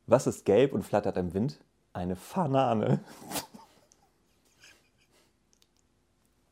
Was ist gelb und flattert im Wind? Eine Banane.